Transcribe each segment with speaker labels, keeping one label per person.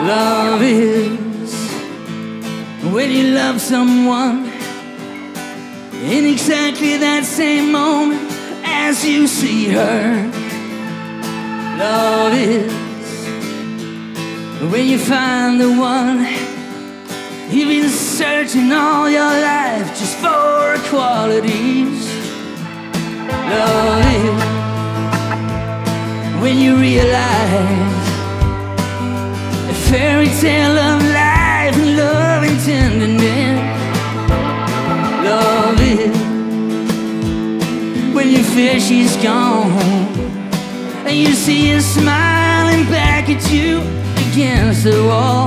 Speaker 1: Love is when you love someone in exactly that same moment as you see her. Love is when you find the one you've been searching all your life just for qualities. Love is when you realize a fairy tale of life and love and tenderness. Love is when you fear she's gone and you see her smiling back at you against the wall.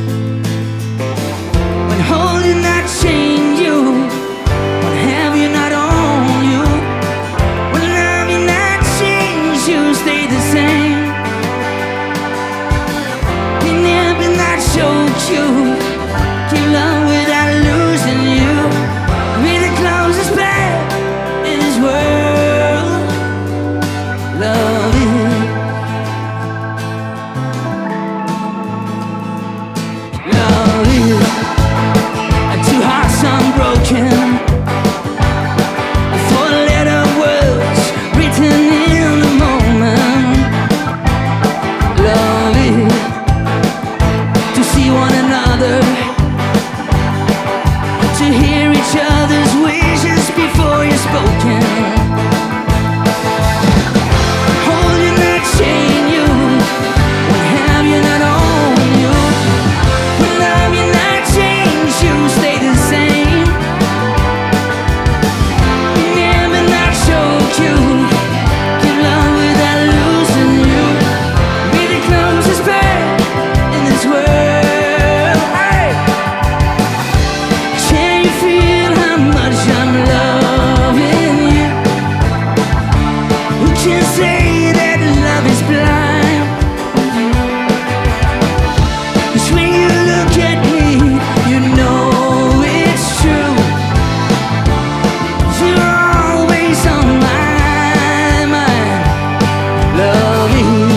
Speaker 1: When holding not change you, when have you not own you, when love you not change you, stay the same. When never not showed you, keep love without losing you. Be the closest path in this world. Love is. Love is. Two hearts unbroken, a four-letter words written in the moment. Love is to see one another, to hear each other's wishes before you're spoken. Hold you not chain you, when have you not own you, when love you not change you, stay the same. Never not choke you, give love without losing you. Be the closest bird in this world. Hey. Can you feel how much I'm loving you? Who can say that love is blind? 'Cause when you look at me, you know it's true. You're always on my mind. Love is.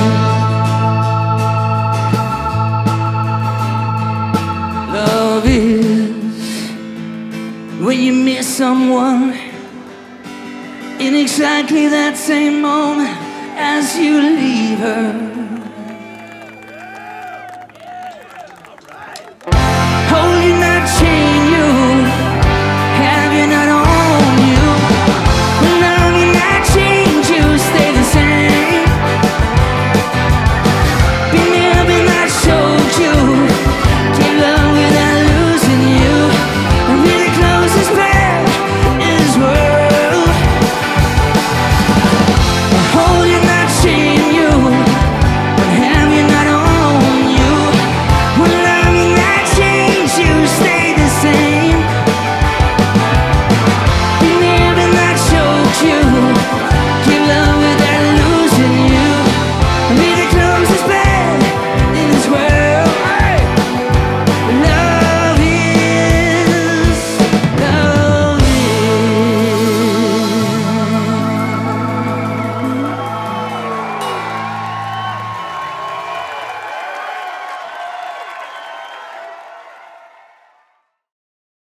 Speaker 1: Love is when you miss someone in exactly that same moment as you leave her.